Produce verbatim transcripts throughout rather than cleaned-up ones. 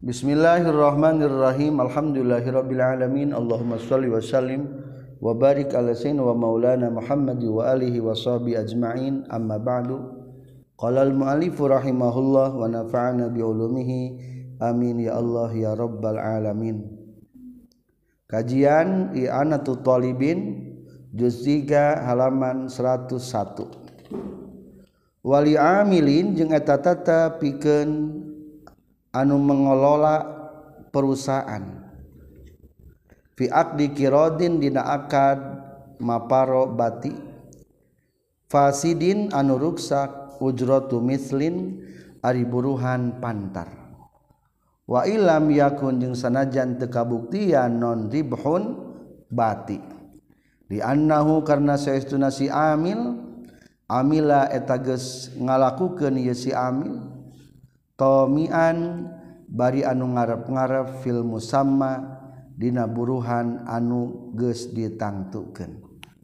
Bismillahirrahmanirrahim. Alhamdulillahirabbil alamin. Allahumma shalli wa sallim wa barik ala sayyidina wa maulana Muhammad wa alihi wa sahbihi ajma'in. Amma ba'du. Qala al-mu'allif rahimahullah wa nafa'ana bi ulumihi. Amin ya Allah ya rabbal alamin. Kajian I'anatul Talibin juz tiga halaman seratus satu. Wali amilin jeung eta tata pikeun anu mengelola perusahaan fi aqdi qiradin dina akad maparo bati fasidin anu ruksak ujratu mislin ari buruhan pantar wa ilam yakun jeung sanajan teu kabuktian non ribhun bati di annahu karna saestuna si amil amila eta geus ngalakukeun ieu si amil tomian bari anu ngarep-ngarep fil musamma dina buruhan anu geus ditangtukeun.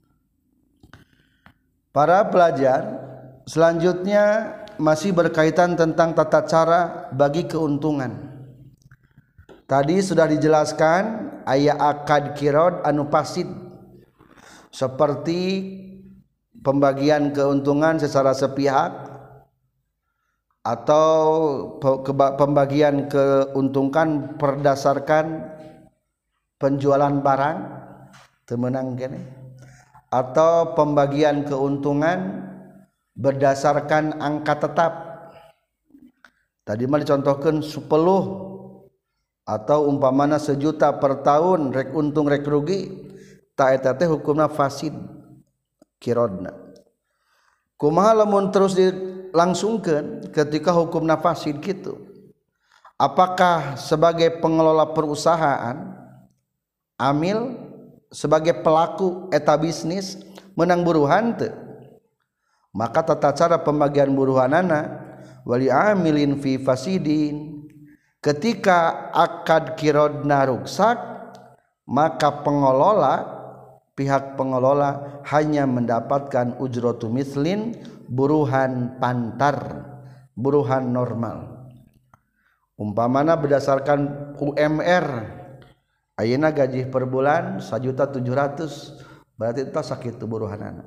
Para pelajar, selanjutnya masih berkaitan tentang tata cara bagi keuntungan. Tadi sudah dijelaskan aya akad qirad anu fasid seperti pembagian keuntungan secara sepihak atau pembagian keuntungan berdasarkan penjualan barang temenang kene atau pembagian keuntungan berdasarkan angka tetap. Tadi mah dicontohkeun sepuluh atau umpamana sejuta per tahun rek untung rek rugi ta eta teh hukumna fasid qiradna. Kumaha lamun terus dilangsungkeun ketika hukumna fasid kitu? Apakah sebagai pengelola perusahaan amil sebagai pelaku eta bisnis menang buruhan teu? Maka tata cara pembagian buruhanana wali amilin fi fasidin ketika akad qiradna ruksak maka pengelola pihak pengelola hanya mendapatkan ujratu mislin buruhan pantar buruhan normal umpamana berdasarkan U M R ayeuna gaji per bulan satu juta tujuh ratus berarti eta sakitu buruhanana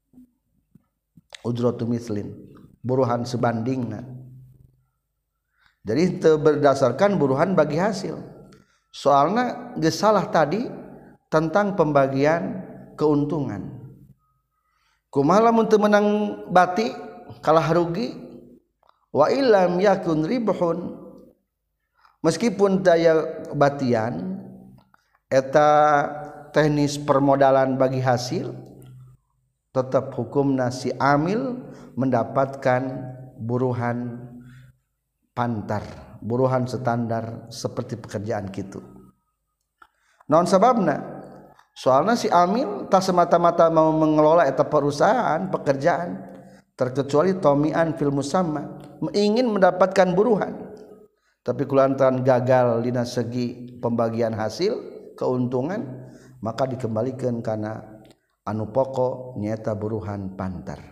ujratu mislin buruhan sebandingna jadi teu berdasarkan buruhan bagi hasil soalna geus salah tadi tentang pembagian keuntungan. Kumaha lamun teu menang bati kalah rugi wa illam yakun ribhun meskipun daya batian eta teknis permodalan bagi hasil tetap hukumna si amil mendapatkan buruhan pantar buruhan standar seperti pekerjaan kitu. Naon sababna? Soalnya si amil tak semata-mata mau mengelola eta perusahaan pekerjaan terkecuali tomian fil musamma ingin mendapatkan buruhan tapi kulantaran gagal dina segi pembagian hasil keuntungan maka dikembalikan karena anu pokok nyata buruhan pantar.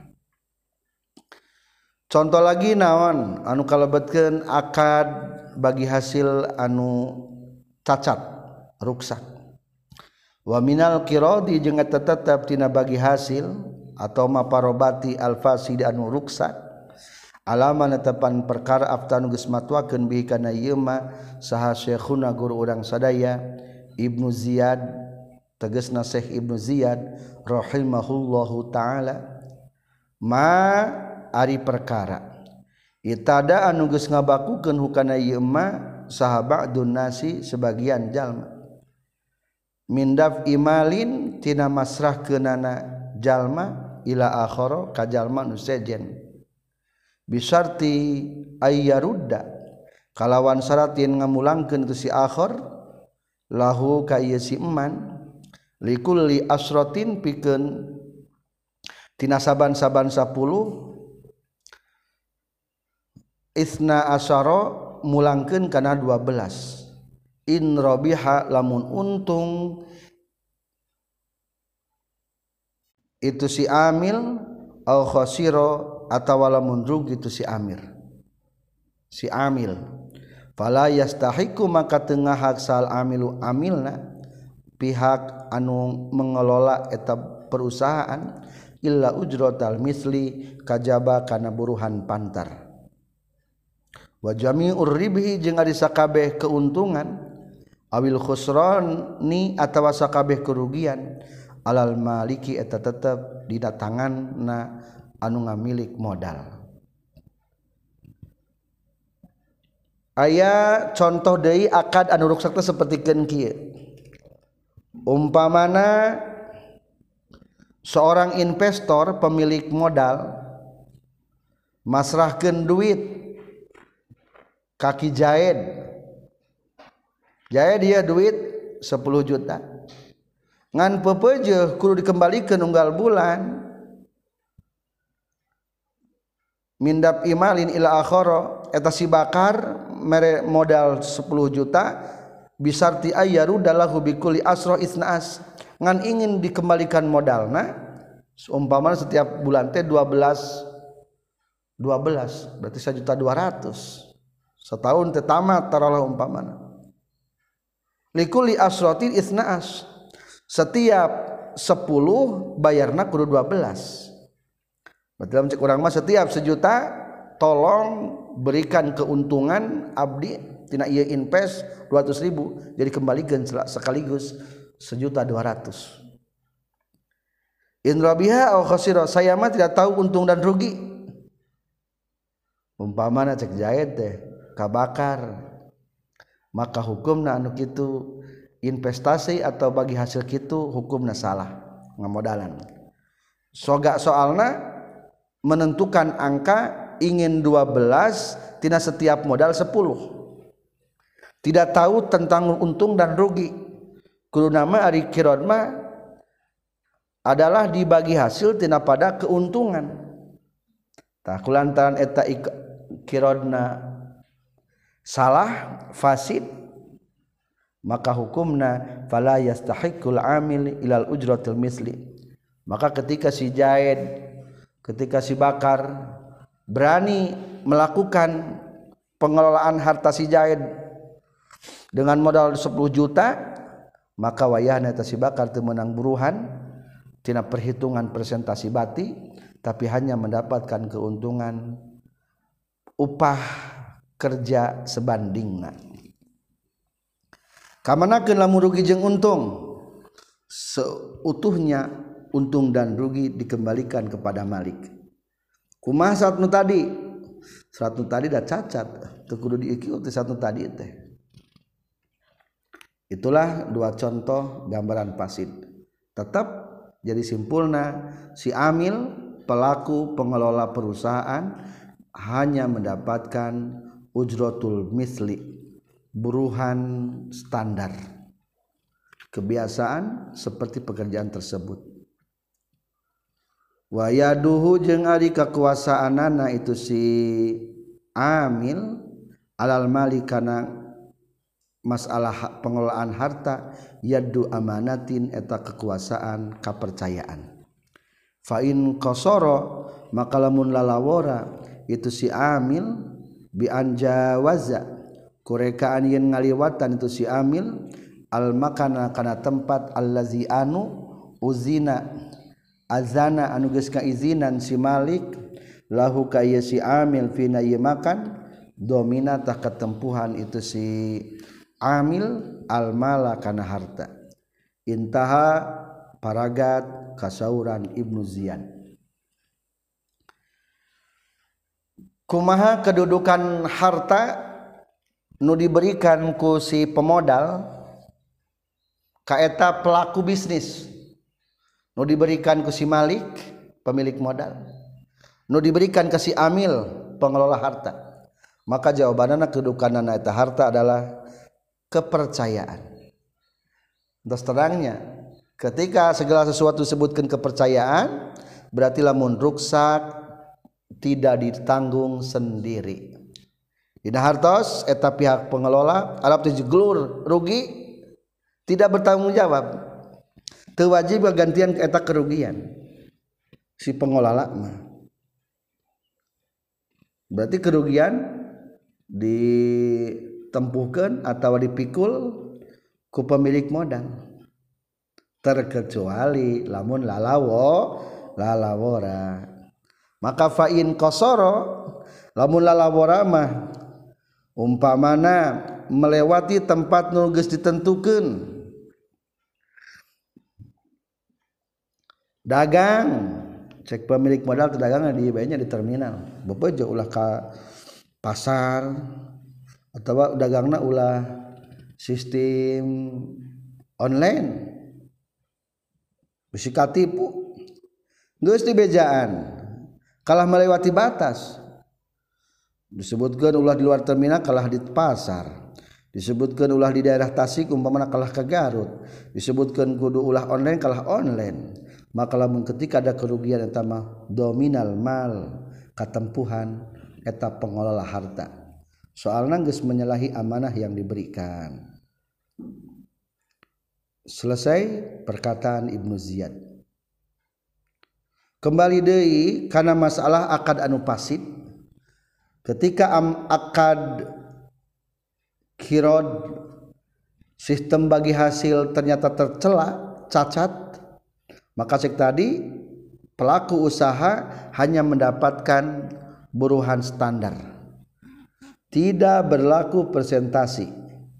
Contoh lagi naon anu kalebetkeun akad bagi hasil anu cacat ruksak wa minal qiradi jeung eta tetep tina bagi hasil atau maparobati al-fasid anu ruksak alama netepan perkara aftanu geus matwakeun bihi kana ieu mah saha syekhuna guru urang sadaya Ibnu Ziyad tegasna Syekh Ibnu Ziyad rahimahullahu taala ma ari perkara itada anu geus ngabakukeun hukana ieu mah saha ba'dun nasi sebagian jalma mindaf imalin tina masrahkeunana jalma ila akhara ka jalma nu sejen bisarti ayyarudda kalawan syarat yen ngamulangkeun tu si akhar lahu ka ieu si eman likulli asratin pikeun tina saban-saban sapuluh isna asyara mulangkeun kana dua belas in rabiha lamun untung itu si amil au khasira atawa lamun rugi itu si amir si amil fala yastahiqu maka tengah hak sal amilu amilna pihak anu mengelola eta perusahaan illa ujratal misli kajaba kana buruhan pantar wa jami'ur ribhi jeung ari sakabeh keuntungan awil khusrani atawa sakabeh kerugian alal maliki eta tetep dina tanganna anu ngamilik modal. Aya contoh deui akad anu ruksak teh sapertikeun kieu. Umpamana seorang investor pemilik modal masrahkeun duit kaki Jaed. Jaed dia duit sepuluh juta. Ngan pepeujeuh kudu dikembalikan unggal bulan. Mindap imalin ila akhara eta si bakar mere modal sepuluh juta bisarti ayyaru dalahu bikulli asra isnaas ngan ingin dikembalikan modalna seumpama setiap bulan teh dua belas dua belas berarti satu juta dua ratus setahun teh tamat taruhlah umpamana likulli asratin isnaas setiap sepuluh bayarna kudu dua belas berarti dalam cek urang mah setiap sejuta tolong berikan keuntungan abdi tina ieu invest dua ratus ribu jadi kembalikan sekaligus sejuta dua ratus. In rabiha aw khasira saya mah tidak tahu untung dan rugi. Umpamana cek Jaed teh kabakar maka hukumna anu kitu investasi atau bagi hasil kitu hukumna salah ngamodalan. Soga soalna menentukan angka ingin dua belas tina setiap modal sepuluh tidak tahu tentang untung dan rugi kudu nama ari kirod mah adalah dibagi hasil tina pada keuntungan tah kulantaran eta kirodna salah fasid maka hukumna fala yastahiqul amil ilal ujratil misli maka ketika si Jaed ketika si bakar berani melakukan pengelolaan harta si Jaed dengan modal sepuluh juta maka wayahna eta si bakar teu meunang buruhan tina perhitungan persentasi bati tapi hanya mendapatkan keuntungan upah kerja sebandingna. Kamanakeun lamun rugi jeung untung seutuhnya untung dan rugi dikembalikan kepada malik. Kumaha saat nu tadi? Saat nu tadi dah cacat, teu kudu diikuti saat nu tadi teh. Itulah dua contoh gambaran fasid. Tetap jadi simpulna si amil pelaku pengelola perusahaan hanya mendapatkan ujratul misli, buruhan standar. Kebiasaan seperti pekerjaan tersebut. Wa yaduhu jeung ari kakuasaanana itu si amil alal mali kana masalah pengelolaan harta yaddu amanatin eta kekuasaan kepercayaan fa in qasara maka lamun lalawora itu si amil bi anjawaza kurekaan yen ngaliwatan itu si amil al makana kana tempat allazi anu uzina azana anu geus kaizinan si malik lahu ka ieu si amil fina ieu makan domina tah ketempuhan itu si amil al mala kana harta intaha paragat kasauran Ibnu Ziyan. Kumaha kedudukan harta nu diberikan ku si pemodal ka eta pelaku bisnis nu diberikan ke si malik pemilik modal nu diberikan ke si amil pengelola harta maka jawabanana kedudukanana eta harta adalah kepercayaan. Terus terangnya ketika segala sesuatu disebutkan kepercayaan berarti lamun ruksak tidak ditanggung sendiri. Dina hartos eta pihak pengelola alap teh glur rugi tidak bertanggung jawab. Teu wajib gantian eta kerugian si pengelola mah. Berarti kerugian di ditempuhkeun atawa dipikul ku pemilik modal terkecuali lamun lalawo lalawora maka fa'in qasara lamun lalawora mah umpamana melewati tempat nu geus ditentukeun dagang cek pemilik modal teu dagang di nya di terminal bebejo ulah ka pasar atawa dagangna ulah sistem online bisi katipu geus dibejaan kalah melewati batas disebutkeun ulah di luar terminal kalah di pasar disebutkeun ulah di daerah Tasik umpamana kalah ke Garut disebutkeun kudu ulah online kalah online maka lamun ketika ada kerugian eta mah dominal mal katempuhan eta pengelola harta soalna geus menyalahi amanah yang diberikan. Selesai perkataan Ibnu Ziyad. Kembali deui kana masalah akad anu fasid ketika am akad kirod sistem bagi hasil ternyata tercela cacat maka cek tadi pelaku usaha hanya mendapatkan buruhan standar tidak berlaku persentasi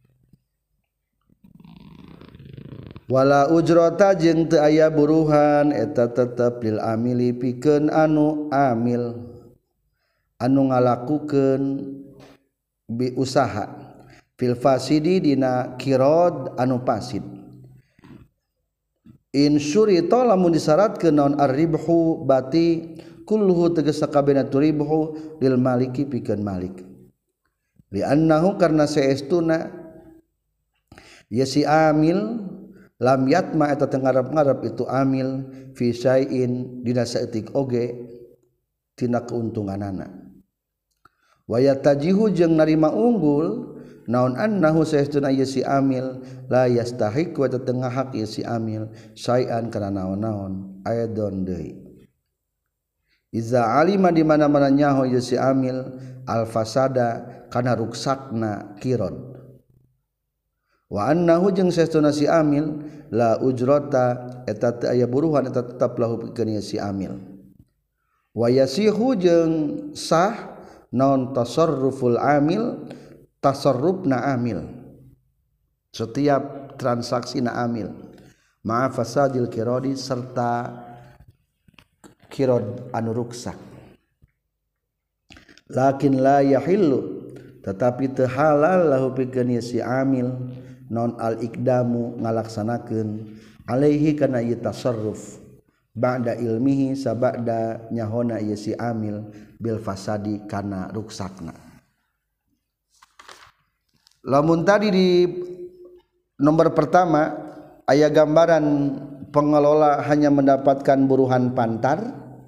wala ujrata jeung teu aya buruhan eta tetep lil amili pikeun anu amil anu ngalakukeun bi usaha fil fasidi dina kirod anu fasid in syurita lamun disyaratkeun naon ar-ribhu bati kulluhu tegas sakabehna ribhu lil maliki pikeun malik li annahu karna saestuna ya si amil lam yatma eta teu ngarep-ngarep itu amil fi syai'in dina saeutik oge tina keuntunganana wa yatajihu jeung narima unggul naon annahu saestuna ieu si amil la yastahiq wa tetengah hak ieu si amil syai'an kana naon-naon aidon deui iza alima di mana-mana nyaho ieu si amil al fasada kana ruksakna kirod wa annahu jeung saestuna si amil la ujrata eta teu aya buruhan eta tetep lahu pikeun ieu si amil wa yasihu jeung sah naon tasarruful amil tasarrufna amil setiap transaksi na amil ma'a fasadil kirodi serta kirod anu ruksak lakin la yahillu tetapi teu halal lahu pikeun si amil non al ikdamu ngalaksanakeun alaihi kana ieu tasarruf ba'da ilmihi sabada nyahona ieu si amil bil fasadi kana ruksakna. Lamun tadi di nomor pertama aya gambaran pengelola hanya mendapatkan buruhan pantar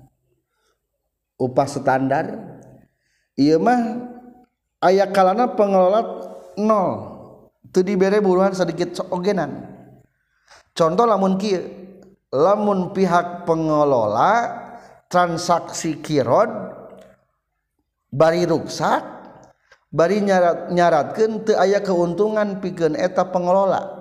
upah standar ieu mah aya kalana pengelola nol teu dibere buruhan sedikit ogenan contoh lamun kieu lamun pihak pengelola transaksi kirod bari ruksak bari nyarat nyaratkeun teu aya keuntungan pikeun eta pengelola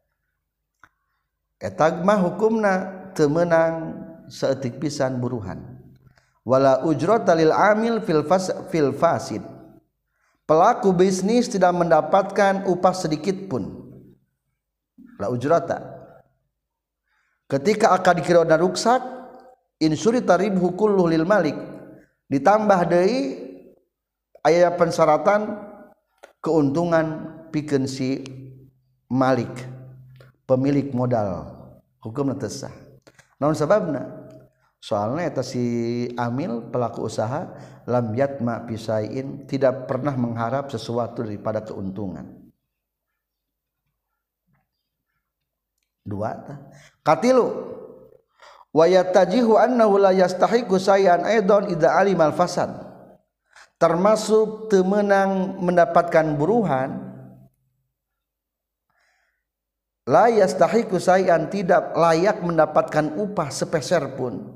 eta mah hukumna teu meunang saeutik pisan buruhan wala ujrata lil amil fil fas fil fasid pelaku bisnis tidak mendapatkan upah sedikit pun la ujrata ketika akad kirod ruksak insuri taribhu kullu lil malik ditambah deui aya pensyaratan keuntungan pikeun si malik pemilik modal hukumna teu sah naon sababna soalna eta si amil pelaku usaha lam yatma pisain tidak pernah mengharap sesuatu daripada keuntungan dua katilu wa yatajihu annahu la yastahiqu sayan aidan idza alimal fasad termasuk temenang mendapatkan buruhan la yastahiqu sayan tidak layak mendapatkan upah sepeser pun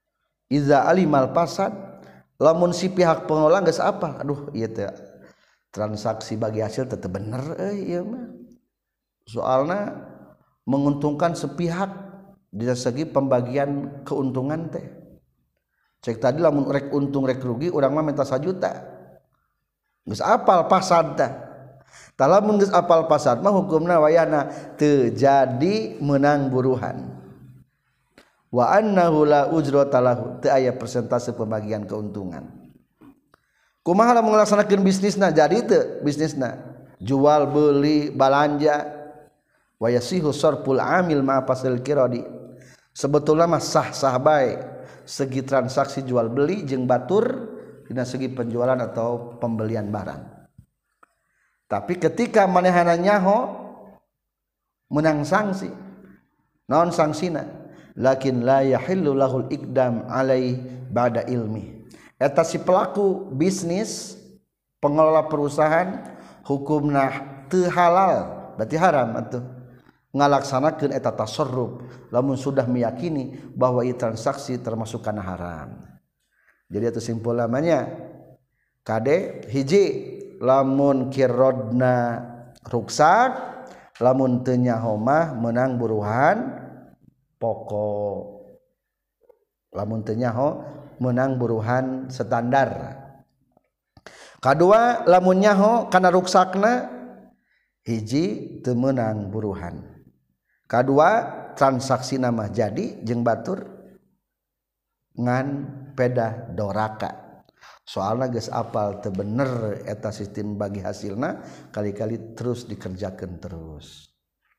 iza alimal fasad lamun si pihak pengelola geus apa aduh ieu teh transaksi bagi hasil tetap bener eh iya mah soalna menguntungkan sepihak dari segi pembagian keuntungan teh cek tadi lamun rek untung rek rugi urang mah minta sajuta geus apal pasad teh tah lamun geus apal pasad mah hukumna wayana teu jadi menang buruhan wa annahu la ujrata lahu teu aya persentase pembagian keuntungan kumaha lamun ngalaksanakeun bisnisna jadi teu bisnisna jual beli balanja wa yasihu sarful amil ma fasil qiradi sebetulna mah sah-sah bae segi transaksi jual beli jeung batur dina segi penjualan atau pembelian barang tapi ketika manehana nyaho menang sanksi naon sangsina lakin la yahillu lahul iqdam alai ba'da ilmi eta si pelaku bisnis pengelola perusahaan hukumna teu halal berarti haram atuh ngalaksanakeun eta tasarruf lamun sudah meyakini bahwa ieu transaksi termasuk kana haram jadi atuh simpul namanya kade hiji lamun kirodna ruksak lamun teu nyaho mah meunang buruhan pokok lamun teu nyaho menang buruhan standar kadua lamun nyaho kana ruksakna hiji teu meunang buruhan kadua transaksi nama jadi jeung batur ngan pedah doraka soalna geus apal teu bener eta sistem bagi hasilna kali-kali terus dikerjakeun terus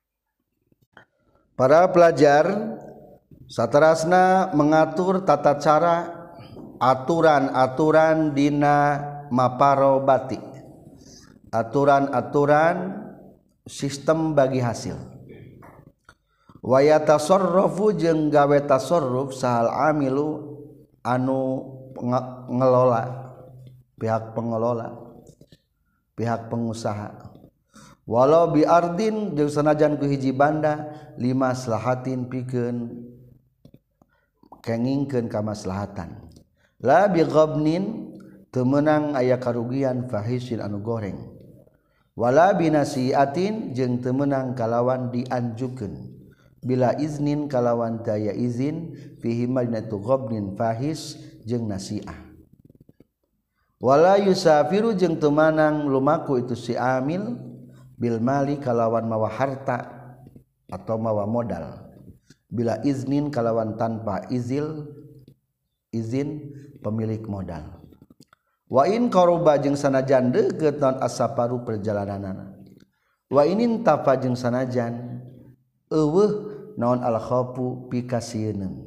para pelajar saterasna mengatur tata cara aturan-aturan dina maparobati aturan-aturan sistem bagi hasil wa yatasarrafu jeung gawe tasarruf sahal amilu anu ngelola pihak pengelola pihak pengusaha walau bi ardin jeung sanajan ku hiji banda lima maslahatin pikeun kengingkeun kamaslahatan la bi ghabnin teu meunang aya karugian fahisin anu goreng wala binasiatin jeung teu meunang kalawan dianjukeun bila iznin kalawan daya izin fihi madinatu ghabnin fahis jeung nasiah wala yusafiru jeung teu meunang lumaku itu si amil bil mali kalawan mawa harta atau mawa modal bila iznin kalawan tanpa izil izin pemilik modal wa in qaruba jeung sanajan deukeut naon asaparu perjalananana wa inin tafa jeung sanajan eueuh naon al khaufu pikasieun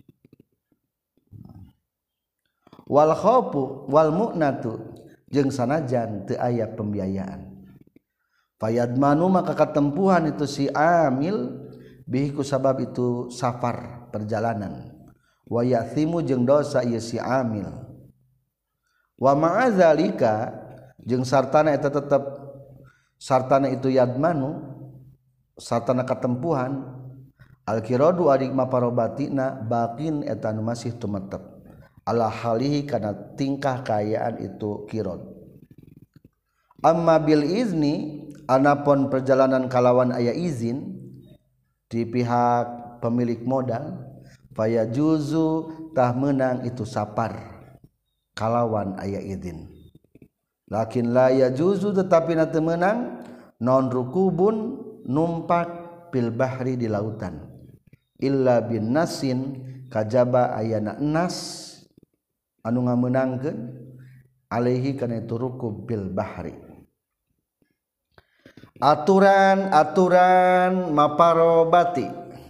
wal khaufu wal mu'natu jeung sanajan teu aya pembiayaan fayadmanu maka katempuhan itu si amil bihi ku sabab itu safar perjalanan wa yathimu jeung dosa ieu si amil wa ma'adzalika jeung sartana eta tetep sartana itu yadmanu sartana katempuhan al-qiradu adik maparobatina baqin eta nu masih tumetep ala halihi kana tingkah kaayaan itu qirad amma bil izni anapun perjalanan kalawan aya izin di pihak pemilik modal faya juzu tah menang itu sapar kalawan aya izin lakin la ya juzu tetapi na teu meunang non rukubun numpak bil bahri di lautan illa bin nasin kajaba ayana nas anu ngameunangkeun alaihi kana itu rukub bil bahri aturan-aturan maparobati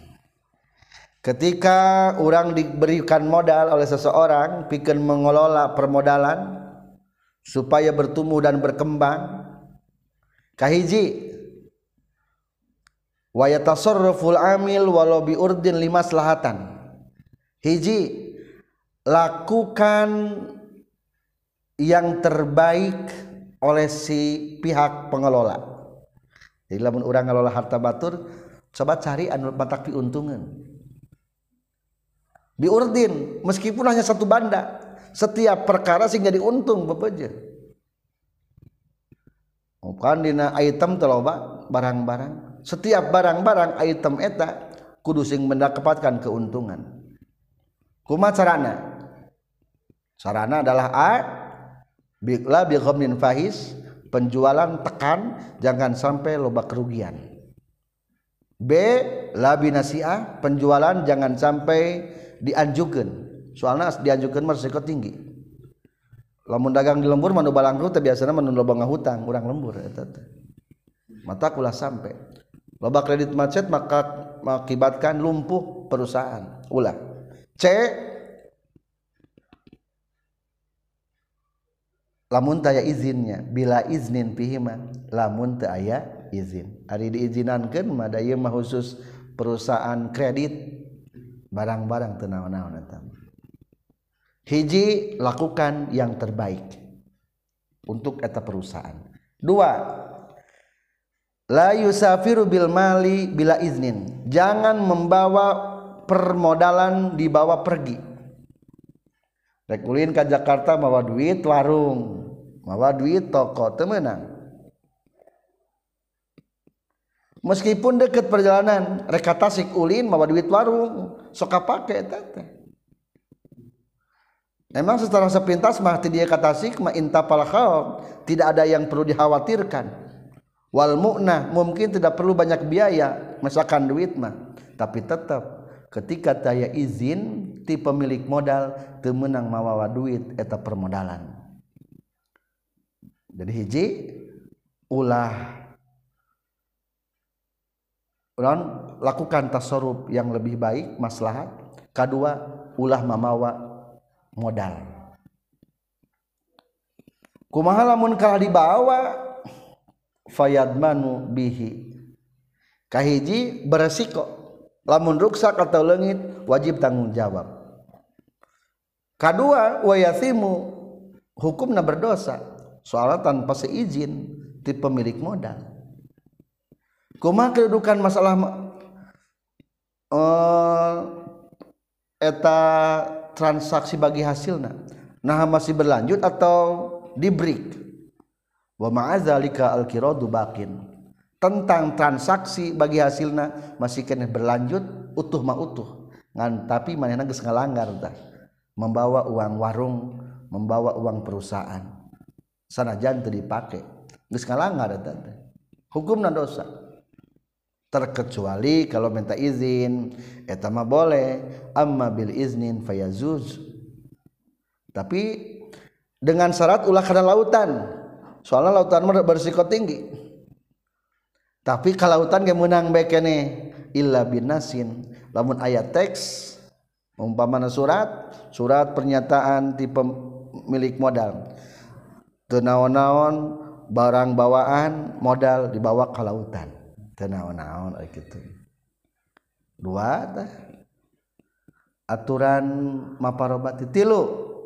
ketika orang diberikan modal oleh seseorang pikeun mengelola permodalan supaya bertumbuh dan berkembang kahiji wa yatasarraful amil walau bi urdin limaslahatan hiji lakukan yang terbaik oleh si pihak pengelola. Jadi lamun urang ngalola harta batur coba cari anu batak piuntungan biurdin meskipun hanya satu banda setiap perkara sing jadi untung bebeje bukan dina item teu loba barang-barang setiap barang-barang item eta kudu sing mendapatkan keuntungan kumaha carana sarana adalah a la bi ghamnin fahis penjualan tekan jangan sampai loba kerugian b la binasiah penjualan jangan sampai dianjurkeun soalna dianjurkeun mah resiko tinggi lamun dagang di lembur manu balangku teh biasana manu loba ngahutang urang lembur eta teh mata kulah sampai loba kredit macet maka mengakibatkan lumpuh perusahaan ulah c lamun teu aya izinnya bila iznin pihima lamun teu aya izin ari diizinankeun mah da ieu mah khusus perusahaan kredit barang-barang teu naon-naon eta hiji lakukan yang terbaik untuk eta perusahaan dua la yusafiru bil mali bila iznin jangan membawa permodalan dibawa pergi rek ulin ka Jakarta mawa duit warung mawa duit toko teu meunang meskipun deket perjalanan rek ka Tasik ulin mawa duit warung sok kapake eta teh memang secara sepintas mah ti dieu ka Tasik mah intapal khauf tidak ada yang perlu dikhawatirkan wal mu'nah mungkin tidak perlu banyak biaya misalkan duit mah tapi tetap ketika taya izin ti pemilik modal teu meunang mawawa duit eta permodalan jadi hiji ulah ulah lakukan tasarruf yang lebih baik maslahat kadua ulah mamawa modal kumaha lamun kalah dibawa fayadmanu bihi kahiji beresiko lamun ruksak atau leungit wajib tanggung jawab kadua wayasimu hukumna berdosa soalnya tanpa seizin ti pemilik modal kumaha kedudukan masalah uh, eta transaksi bagi hasilna nah masih berlanjut atau di break wa ma'azalika al-qiradu baqin tentang transaksi bagi hasilna masih kena berlanjut utuh mah utuh ngan tapi manehna geus ngalanggar tah membawa uang warung membawa uang perusahaan sanajan teu dipake geus ngalanggar eta teh hukumna dosa terkecuali kalau minta izin eta mah boleh amma bil iznin fayazuz tapi dengan syarat ulah kana lautan soalnya lautan mah berisiko tinggi tapi kalautan ge meunang bae keneh illa binasin lamun aya teks umpamana surat surat pernyataan ti pemilik modal teu naon-naon barang bawaan modal dibawa ka lautan teu naon-naon aya kitu dua tah aturan maparobati tilu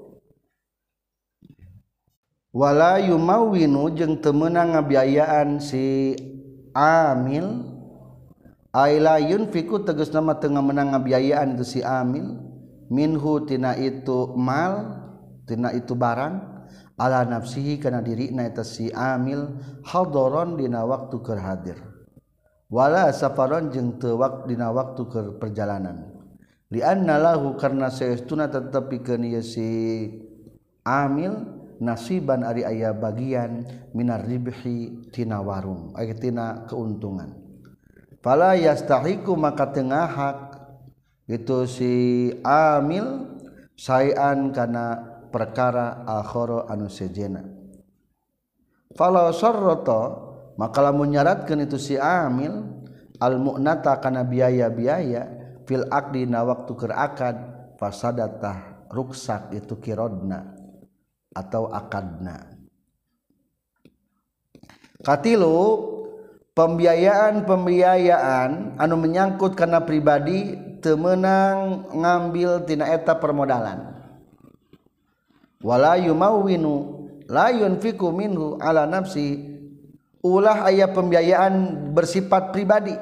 wala yumawwinu jeung teu meunang ngabiayaan si amil aila yunfiku tegas nama tengah menang ngabiayaan itu si amil minhu tina itu mal tina itu barang ala nafsihi kana dirina eta si amil hadaron dina waktu keur hadir wala safaron jeung teu wak dina waktu keur perjalanan li anna lahu karna saestuna tetepikeun ieu si amil nasiban ari aya bagian minar ribhi tina warung aya tina keuntungan fala yastahiqu maka tengah hak itu si amil sayan kana perkara akhara anu sejena fala sarrata maka lamun nyaratkeun itu si amil al mu'nata kana biaya-biaya fil aqdi na waktu keur akad fasadatah ruksak itu kirodna atau akadna katilu pembiayaan-pembiayaan anu menyangkut kana pribadi teu meunang ngambil tina eta permodalan wala yumawwinu la yunfiqu minhu ala nafsi ulah aya pembiayaan bersifat pribadi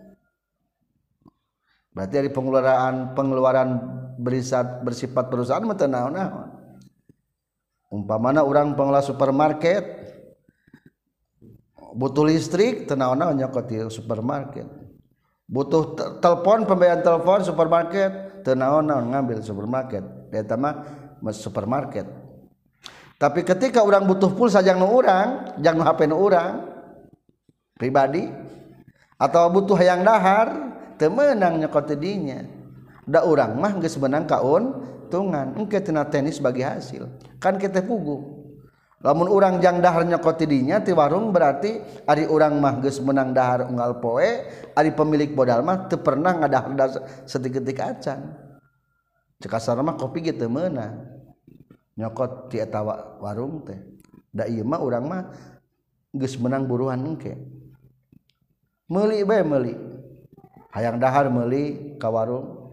berarti dari pengeluaran pengeluaran berisat bersifat perusahaan mah teu naon-naon umpamana urang pengelola supermarket butuh listrik teu naon-naon nyokot di supermarket, butuh telepon pembayaran telepon supermarket teu naon-naon ngambil supermarket eta mah supermarket. Tapi ketika orang butuh pulsa jang nu urang jang nu H P nu urang pribadi atau butuh hayang dahar teu meunang nyokot di dinya. Da urang mah geus meunang kauntungan engke tina tenis bagi hasil kan kita puguh. Lamun urang jang dahar nyokot di dinya ti warung berarti ari urang mah geus meunang dahar unggal poe, ari pemilik modal mah teu pernah ngadahar saeutik-eutik acan. Cek kasarna mah kopi ge teu meunang nyokot ti eta warung teh. Da ieu mah urang mah geus meunang buruhan engke. Meuli bae meuli. Hayang dahar meuli ka warung.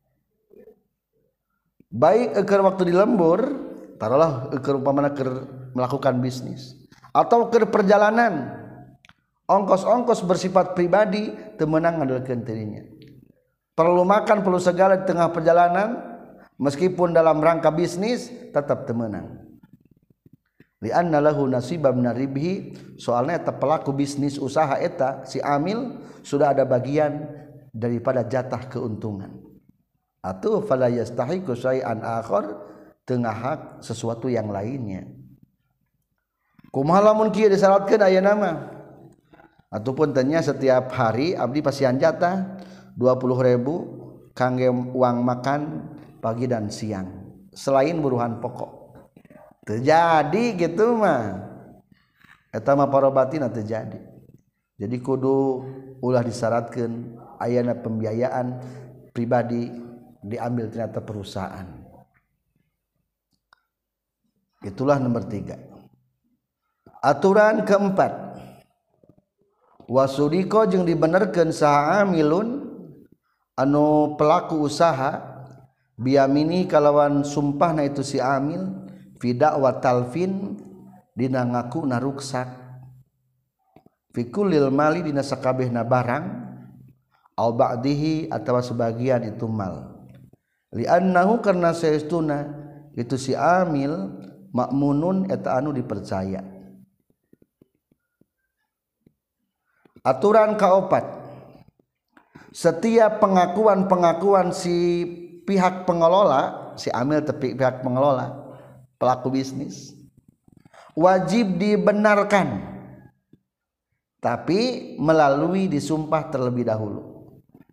Baik keur waktu di lembur, taruhlah keur umpamana keur melakukan bisnis atau keur perjalanan ongkos-ongkos bersifat pribadi teu meunang ngandelkeun dirinya. Perlu makan, perlu segala di tengah perjalanan meskipun dalam rangka bisnis tetap teu meunang. Li anna lahu nasibam minaribhi, soalnya eta pelaku bisnis usaha eta si amil sudah ada bagian daripada jatah keuntungan. Atau fala yastahiqu syai'an akhar, tengah hak sesuatu yang lainnya. Kumaha lamun kieu disyaratkeun aya nama ataupun tanya setiap hari abdi pasian jatah dua puluh ribu kangge uang makan pagi dan siang selain buruhan pokok. Terjadi gitu mah eta mah parobatina terjadi. Jadi kudu ulah disyaratkeun ayana pembiayaan pribadi diambil ternyata perusahaan. Itulah nomor tiga. Aturan keempat, wasudiko jeung dibenerkeun saha amilun anu pelaku usaha biamini kalawan sumpahna itu si amil fi da'wa talfin dina ngaku naruksak fi kullil mali dina sakabehna barang au ba'dihi atawa sebagian itu mal. Li'annahu karna saestuna itu si amil makmunun eta anu dipercaya. Aturan kaopat, setiap pengakuan-pengakuan si pihak pengelola, si amil tepi pihak pengelola pelaku bisnis wajib dibenarkan tapi melalui disumpah terlebih dahulu.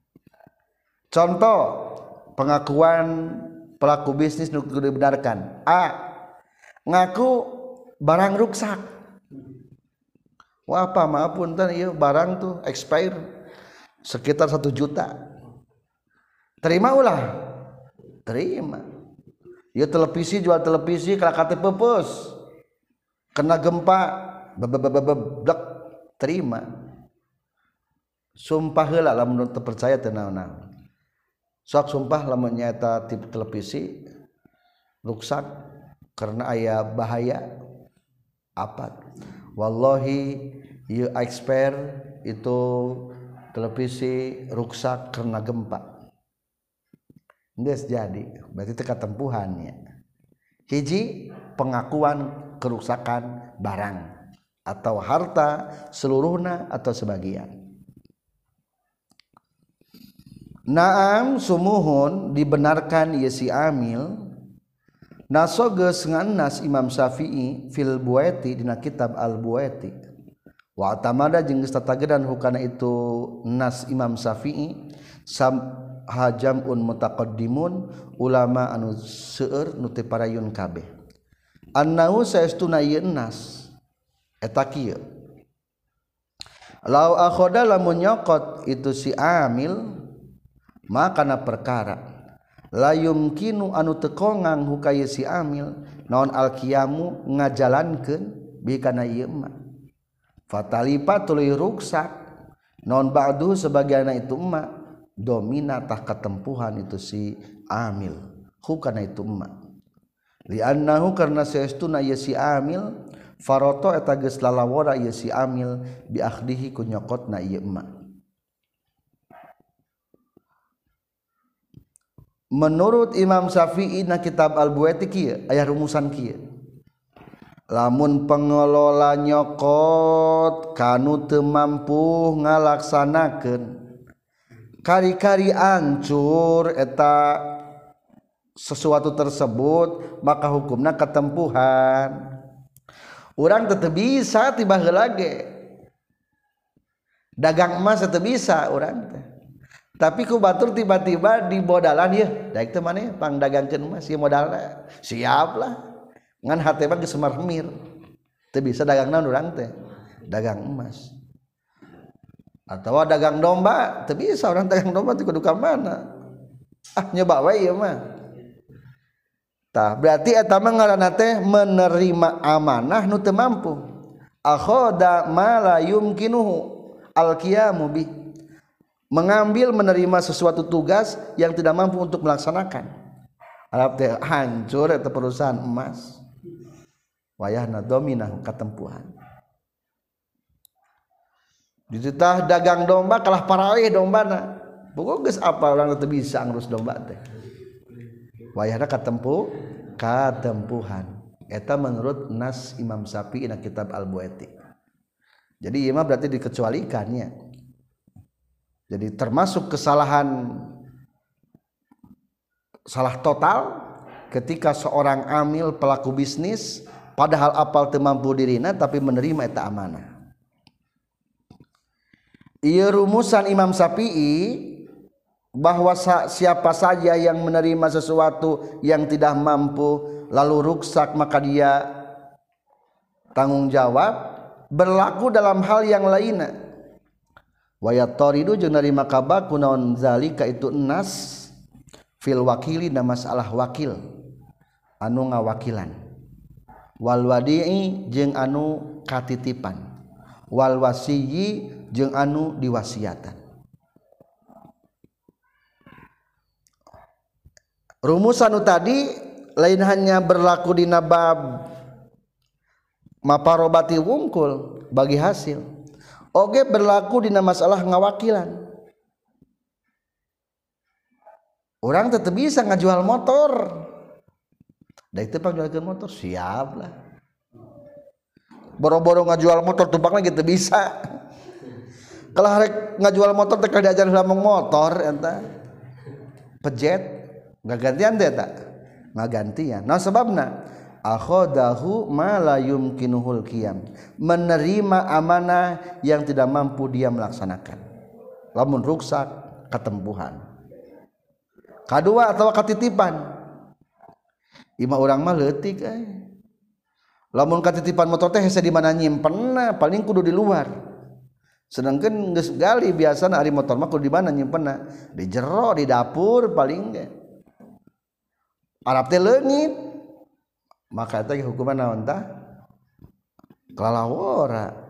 Contoh pengakuan pelaku bisnis nu dibenarkan, A ngaku barang ruksak. Wah apa maafun tan ieu barang tuh expire sekitar satu juta. Terima ulah. Terima. Ieu televisi jual televisi kalakate peupeus. Kena gempa bebebebebek terima. Sumpah heula lamun teu percaya teu naon-naon. Sok sumpah lamun nyaeta tip televisi ruksak karena aya bahaya apa? Wallahi ieu expert itu televisi ruksak karena gempa. Geus jadi, berarti teu katempuhannya. Hiji pengakuan kerusakan barang atau harta seluruhna atau sebagian. Naam sumuhun dibenarkan ieu si amil nasogeus ngannas Imam Syafi'i fil Buaiti dina kitab Al Buaiti wa atamada jeung geus tatagedan hukana itu nas Imam Syafi'i sam hajamun mutaqaddimun ulama anu seueur nu teu parayun kabeh annahu saestuna ieu nas eta kieu lau akhoda lamun nyokot itu si amil makana perkara la yumkinu anu teu kongang hukaya si amil naon alqiyamu ngajalankeun bi kana ieu mah fatalipa tuluy ruksak naon ba'du sebagianna itu mah domina tah katempuhan itu si amil hukana itu mah li annahu karna saestuna ieu si amil faroto eta geus lalawara ieu si amil bi akhdihi ku nyokotna ieu mah. Menurut Imam Syafi'i na kitab Al-Buaiti kieu aya rumusan kieu. lamun pengelola nyokot kanu teu mampu ngalaksanakeun kari-kari ancur eta sesuatu tersebut maka hukumna ketempuhan. Urang teu bisa tiba heula ge dagang emas teu bisa urang teh. Tapi ku batur tiba-tiba di modalan ieu daek teh maneh pang dagangkeun emas ieu modalna siap lah ngan hate mah geus semar-semir teu bisa dagang naon urang teh dagang emas atau dagang domba teu bisa urang dagang domba teh kudu ka mana ah nyoba wae ieu mah tah berarti eta mah ngaranna teh menerima amanah nu teu mampu akhoda ma la yumkinuhu al-qiyamu bi mengambil menerima sesuatu tugas yang tidak mampu untuk melaksanakan arab teh hancur eta perusahaan emas wayahna dominah katempuhan. Dititah dagang domba kalah parawe dombana. Pokok geus apa urang teu bisa ngurus domba teh. Wayahna katempuh katempuhan. Eta menurut nas Imam Syafi'i na kitab Al-Buaiti. Jadi ieu mah berarti dikecualikannya. Jadi termasuk kesalahan salah total ketika seorang amil pelaku bisnis padahal apal teu mampu dirina tapi menerima eta amanah. Ieu rumusan Imam Syafi'i bahwa siapa saja yang menerima sesuatu yang tidak mampu lalu ruksak maka dia tanggung jawab berlaku dalam hal yang lainnya. Wa yataridu jeung narima kabaku naon zalika itu nas fil wakili na masalah wakil anu ngawakilan. Wal wadi'i jeung anu katitipan wal wasiyyi jeung anu diwasiatan. Rumusan anu tadi lain hanya berlaku di bab maparobati wungkul bagi hasil oge berlaku di masalah ngawakilan. Orang tetap bisa ngajual motor da itu pak jualkeun motor siap lah boro-boro ngajual motor tumpakna gitu bisa kalau harek ngajual motor teh kada diajar heula motor eta pejet ngagantian teh eta ngagantian nah sebabna akhadahu ma la yumkinuhul qiyam menerima amanah yang tidak mampu dia melaksanakan lamun ruksak ketempuhan kadua atau katitipan imah urang mah leutik eh. Lamun katitipan motor teh hese di mana nyimpenna paling kudu di luar. Sedangkeun geus gali biasana ari motor mah kudu di mana nyimpenna? Di jero di dapur paling ge. Arab teh leungit. Maka eta hukuman naon tah? Kalalawora.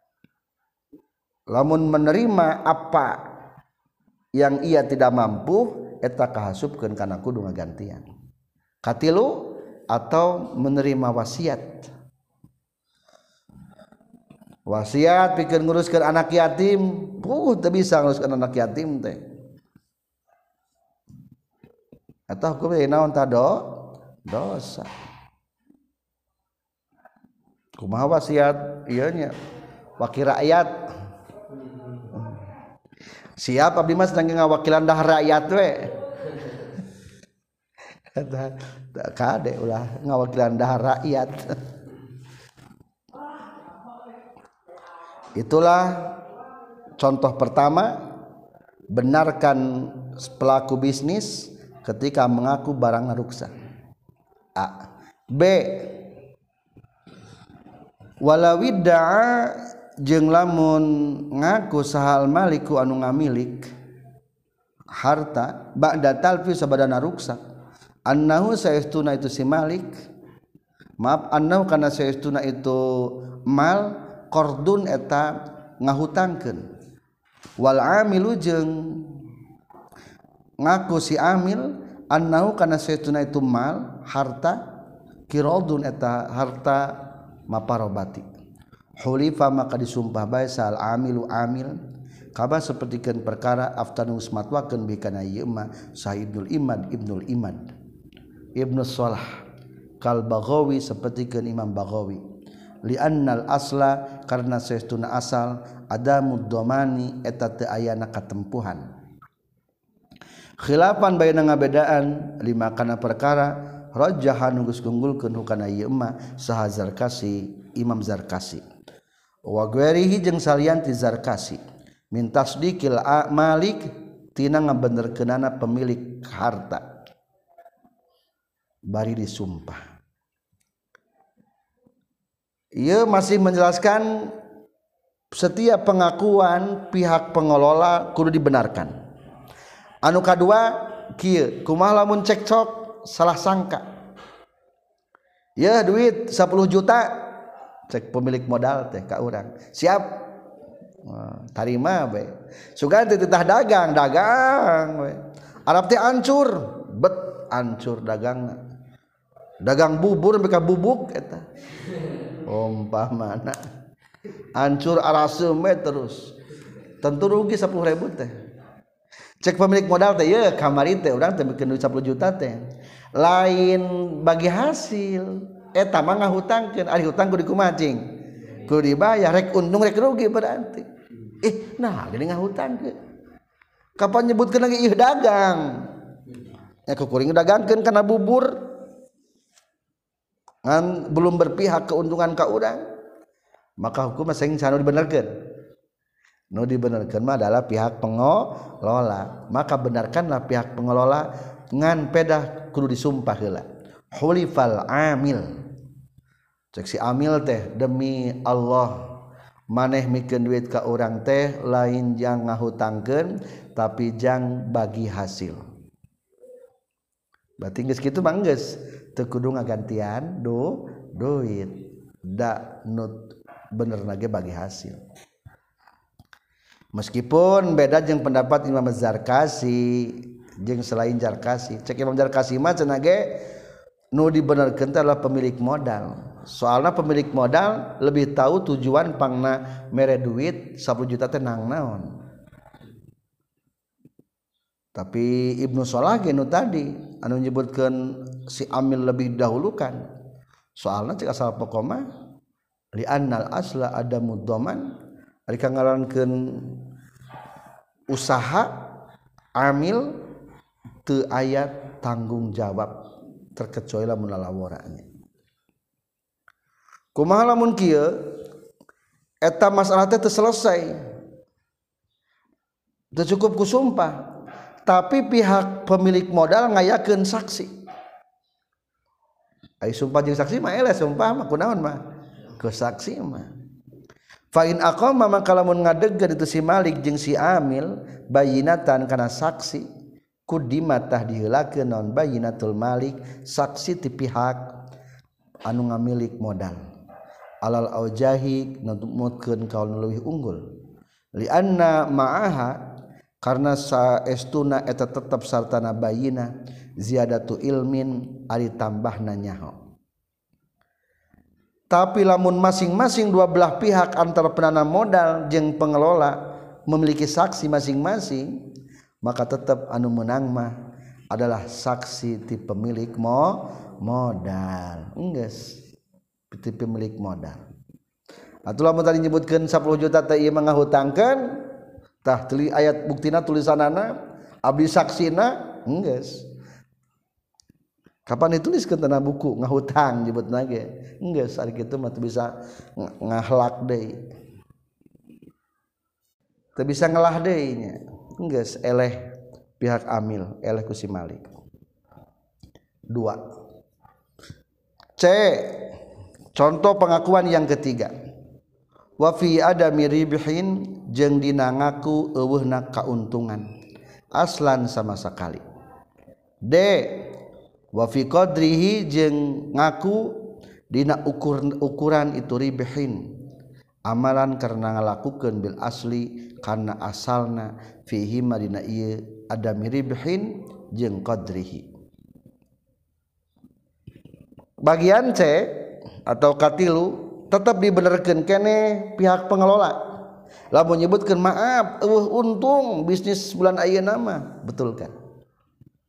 Lamun menerima apa yang ia tidak mampu eta kahasupkeun kana kudu ngagantian. Katilu atau menerima wasiat wasiat pikeun nguruskeun anak yatim puh teu bisa nguruskeun anak yatim teh eta hukumna naon tah do dosa kumaha wasiat ieu nya wakil rakyat siap abdi mah sedang ngawakilan dah rakyat we kade ulah ngawakilan dahar rakyat. Itulah contoh pertama benarkan pelaku bisnis ketika mengaku barang ruksak. A. B. Walawidda'a jeung lamun ngaku sahal maliku anu ngamilik harta ba'da talfi sabadana ruksak annahu saestuna itu si malik maaf annahu kana saestuna itu mal qardun eta ngahutangkeun wal amilu jeung ngaku si amil annahu kana saestuna itu mal harta qiradun eta harta maparobati hulifa maka disumpah bae sal amilu amil kaba sapertikeun perkara aftanu matwakeun bi kana ieu mah Sa'idul Imad Ibnul Imad Ibnu Shalah kal Baghawi sapertikeun Imam Baghawi li'annal asla karena saestuna asal ada muddomani eta teu ayana katempuhan khilafan baina ngabedaan lima kana perkara rajahan geus gunggulkeun hukana ieu mah saha Zarkasi Imam Zarkasi wa ghairihi jeung salian ti Zarkasi min tasdiqil malik tina ngabenerkeunana pemilik harta bari disumpah. Ia masih menjelaskan setiap pengakuan pihak pengelola kudu dibenarkan. Anu kadua kieu kumaha lamun cekcok salah sangka. Ya duit sepuluh juta cek pemilik modal teh ka urang. Siap. Wah, tarima we. Sugan teh titah dagang, dagang we. Arab teh ancur, bet ancur dagangna. Dagang bubur mereka bubuk eta. Umpamana hancur arasem terus tentu rugi sepuluh ribu teh cek pemilik modal teh ya kamari teh urang teh bikin duit sepuluh juta teh lain bagi hasil eta mah ngahutangkeun ari hutang kudu kumacing kudu dibayar rek untung rek rugi berarti eh nah gini ngahutangkeun kapan nyebutkeun lagi ih dagang ya kukuring dagangkeun kana bubur ngan belum berpihak keuntungan ka urang maka hukum sing sanu dibenerkeun nu dibenerkeun mah adalah pihak pengelola maka benarkanlah pihak pengelola ngan pedah kudu disumpah heula hulifal amil cek si amil teh demi Allah maneh mikeun duit ka urang teh lain jang ngahutangkeun tapi jang bagi hasil berarti geus kitu mah geus teu kudu ngagantian do duit da nut bener nage bagi hasil meskipun beda jeung pendapat Imam Zarkasi jeung selain Zarkasi cek Imam Zarkasi mah cenah ge nu dibenerkeun teh adalah pemilik modal soalna pemilik modal lebih tahu tujuan pangna mere duit sepuluh juta teh nang naon tapi Ibnu Salah ge nu tadi anu menyebutkeun si amil lebih dahulukan soalna cek asal pokona li annal asla ada muddoman ari kangarankeun usaha amil teu aya tanggung jawab terkecuali lamun lalaworanya kumaha lamun kieu eta masalah teh teu selesai teu cukup ku sumpah tapi pihak pemilik modal ngayakeun saksi ai sumpah jeung saksi mah eleh sumpah mah kunaon mah ke saksi mah fa in aqama maka lamun ngadegkeun itu si malik jeung si amil bayinatan kana saksi kudimatah diheulakeun naon bayinatul malik saksi ti pihak anu ngamilik modal alal aujahi numutkeun kaul leuwih unggul li anna ma'aha karena saestuna eta tetep sartana bayina ziyadatu ilmin ari tambahna nyaho tapi lamun masing-masing dua belah pihak antara penanam modal jeung pengelola memiliki saksi masing-masing maka tetap anu menang mah adalah saksi ti pemilik mo modal enggeus ti pemilik modal atuh lamun tadi nyebutkeun sepuluh juta teh ieu mah ngahutangkeun tah teli ayat buktina tulisanana abdi saksina enggeus kapan dituliskeun tina buku ngahutang nyebutna ge enggeus ari kitu mah teu bisa ngahlak deui teu bisa ngelah deui nya enggeus eleh pihak amil eleh ku si malik dua C contoh pengakuan yang ketiga wa fi adami ribhin jeung dina ngaku eueuhna kauntungan aslan sama sekali D wa fi qadrihi jeung ngaku dina ukur ukuran itu ribhin amalan karena ngalakukeun bil asli karena asalna fihi madina ieu adami ribhin jeung qadrihi bagian C atau katilu tetap dibenerkeun kene pihak pengelola lamun nyebutkeun maaf eueuh untung bisnis bulan ayeuna mah betul kan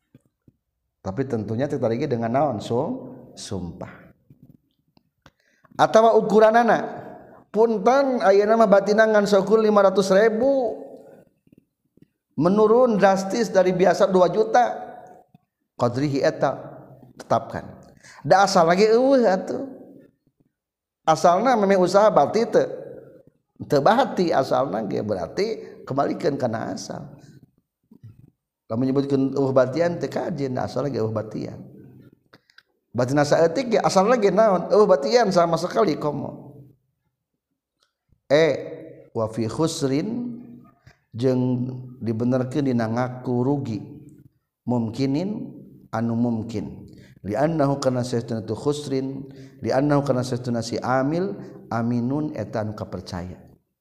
tapi tentunya tertariki dengan naon so sumpah atawa ukuranana punten ayeuna mah batinangan sokul lima ratus ribu menurun drastis dari biasa dua juta qadrihi eta tetapkan da asal lagi eueuh atuh asalna memang usaha berarti teu teu bahati asalna ge berarti kembalikan kana asal lamun nyebutkeun eueuh batian teu kajen asal lagi eueuh batian batina saeutik ge asal lagi naon eueuh batian sama sekali komo e wa fi khusrin jeung dibenerkeun dina ngaku rugi mumkinin anu mungkin li annahu kana saestuna tu khusrin li annahu kana saestuna si amil aminun eta anu kapercaya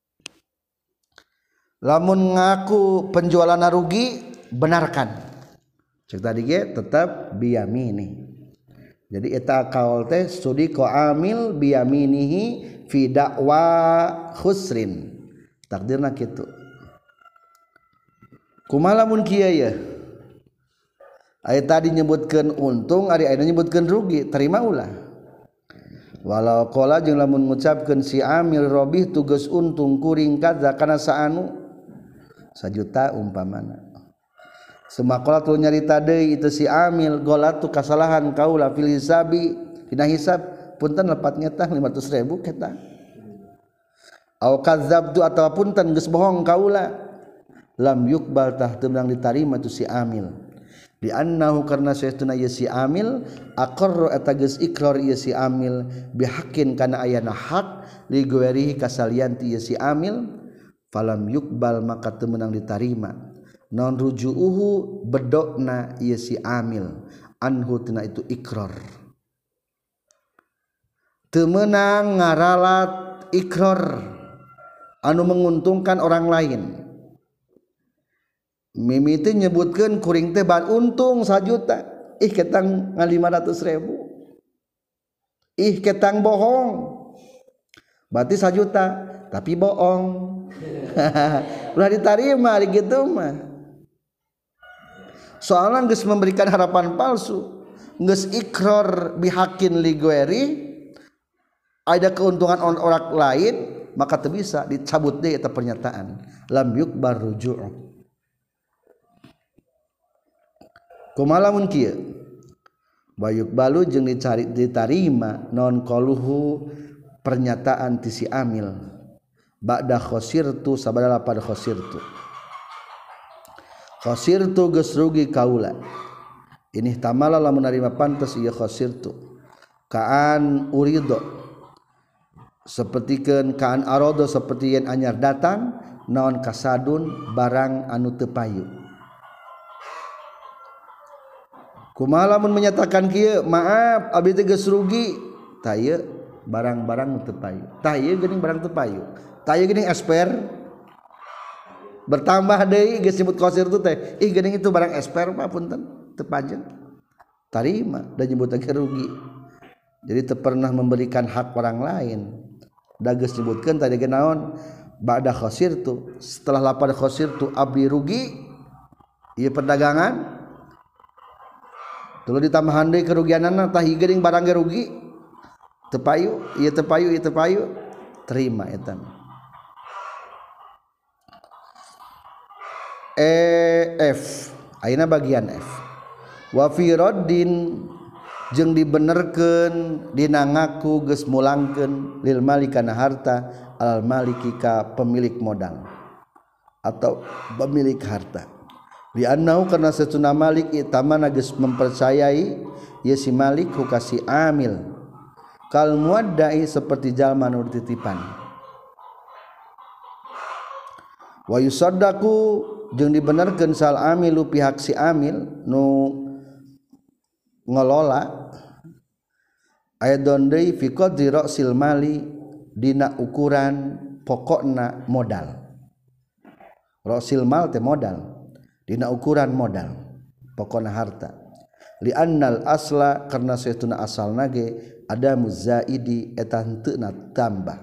lamun ngaku penjualan rugi benarkan cek tadi ge tetap biyamini jadi eta kaul teh studi ko amil biyaminihi fi da'wa khusrin takdirna kitu kumaha lamun kieu ya aya tadi nyebutkeun untung ari ayeuna nyebutkeun rugi terima ulah walau qala jeung lamun ngucapkeun si amil robih tugas untung kuring kadza kana saanu sajuta umpamana semakola tu nyarita deui itu si amil golatu kasalahan kaula fil hisabi dina hisab punten lepat nyetah lima ratus ribu kata au kadzabtu atawa punten geus bohong kaula lam yuqbal tah teu meunang ditarima tu si amil di annahu karna saestuna ieu si amil aqarra eta geus iqrar ieu si amil bihaqqin kana ayana hak li ghairihi kasalian ti ieu si amil falam yuqbal maka teu meunang ditarima non rujuuhu bedokna ieu si amil anhu tina itu iqrar teu meunang ngaralat iqrar anu menguntungkan orang lain mimiti nyebutkeun kuring teh ban untung sajuta ih ketang ngan lima ratus ribu ih ketang bohong berarti sajuta tapi bohong ulah ditarima ari kitu mah soalna geus memberikan harapan palsu geus ikrar bihaqqin li ghairi ada keuntungan orang lain maka teu bisa dicabut deui eta pernyataan lam yukbar ruju' kumaha lamun kieu bayuk balu jeung dicari ditarima non qaluhu pernyataan ti si amil ba'da khosirtu sabada lapad khosirtu khosirtu geus rugi kaula ini tamala lamun narima pantes ieu khosirtu kaan urido sapertikeun kaan arodo saperti yen anyar datang naon kasadun barang anu teu payu kumaha lamun menyatakan kieu maaf abdi teh geus rugi tah ieu barang-barang teu payu tah ieu geuning barang teu payu tah ieu geuning esper bertambah deui geus nyebut qasir tu teh ih geuning itu barang esper mah punten teu pajeng tarima da nyebut ge rugi jadi teu pernah memberikan hak orang lain da geus nyebutkeun tadi ge naon ba'da khasirtu setelah lapad khasirtu abdi rugi ieu perdagangan tuluy ditambahan deui kerugianana tah ieu geuning barang ge rugi teu payu ieu teu payu ieu teu payu terima eta e F ayeuna bagian F wa fi raddin jeung dibenerkeun dina ngaku geus mulangkeun lil malikana harta al maliki ka pemilik modal atau pemilik harta li annahu kana satuna malik itamana geus mempercayai ieu si malik ku kasih amil kal muaddai seperti jalma nu titipan wa yusaddaqu jeung dibenerkeun sal amilu pihak si amil nu ngelola aidon deui fi qadri ra'sil mali dina ukuran pokokna modal ra'sil mal teh modal dina ukuran modal pokona harta li annal asla karna saestuna asalna ge ada muzaidi eta henteuna tambah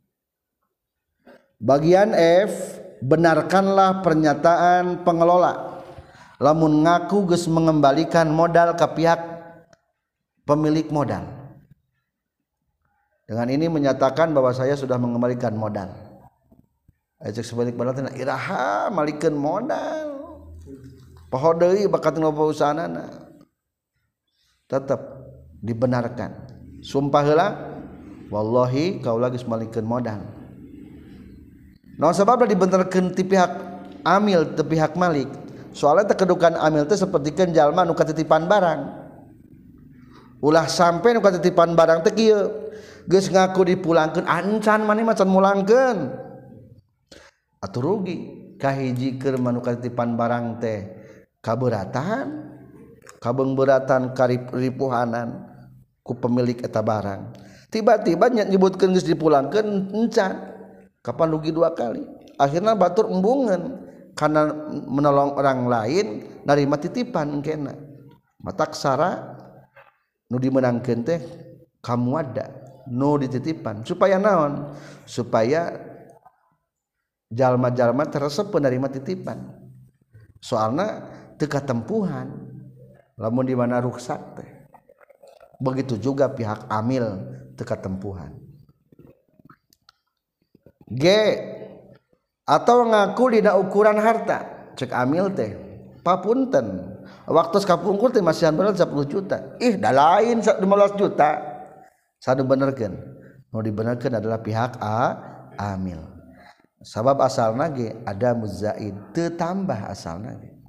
bagian F benarkanlah pernyataan pengelola lamun ngaku geus mengembalikan modal ka pihak pemilik modal Dengan ini menyatakan bahwa saya sudah mengembalikan modal. Ajak sebalik baratna iraha malikeun modal. Poho deui bakat ngopo usahanana. Tetap dibenarkan. Sumpah heula wallahi kaula geus malikeun modal. Naon sababna dibenarkeun ti pihak amil ti pihak malik? Soalnya kedudukan amil teh sapertikeun jalma nu katitipan barang. Ulah sampai nu katitipan barang teh kieu geus ngaku dipulangkeun ancan maneh macan mulangkeun. Atuh rugi kahiji keur manu katitipan barang teh kabeuratan kabeungbeuratan karipuhanan ku pemilik eta barang. Tiba-tiba nyebutkeun geus dipulangkeun encan. Kapan rugi dua kali? Akhirna batur embungeun karena menolong orang lain narima titipan engkena. Matak sara nu dimenangkeun teh kamu ada nu dititipan supaya naon? Supaya jalma-jalma teresep penerima titipan. Soalna teu katempuhan lamun di mana ruksak teh. Begitu juga pihak amil teu katempuhan. G atau ngaku dina ukuran harta cek amil teh papunten waktu kapungkur teh masihan bener sepuluh juta ih da lain lima belas juta sadu benerkeun nu dibenerkeun adalah pihak A amil sabab asalna ge ada muzaid teu tambah asalna ge.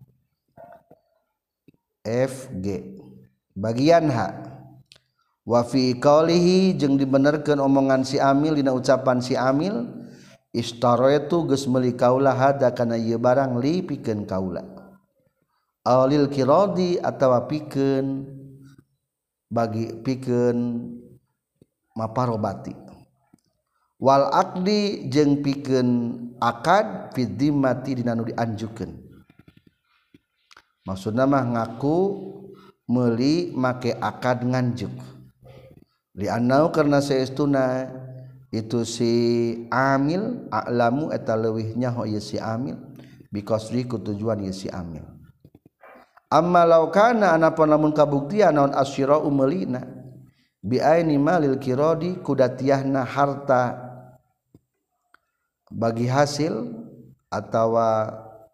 F G bagian H wa fi qaulihi jeung dibenerkeun omongan si amil dina ucapan si amil istaraitu geus meuli kaula hada kana ieu barang li pikeun kaula alil kiradi atawa pikeun bagi pikeun maparobati wal aqdi jeung pikeun akad fi dhimmati dina nu dianjukeun maksudna mah ngaku meuli make akad nganjuk li annau karna saestuna itu si amil a'lamu eta leuwih nyaho ieu si amil bikosri ku tujuan ieu si amil amma law kana anapun lamun kabuktian naon asyira umelina bi aini malil kiradi kudatiahna harta bagi hasil atawa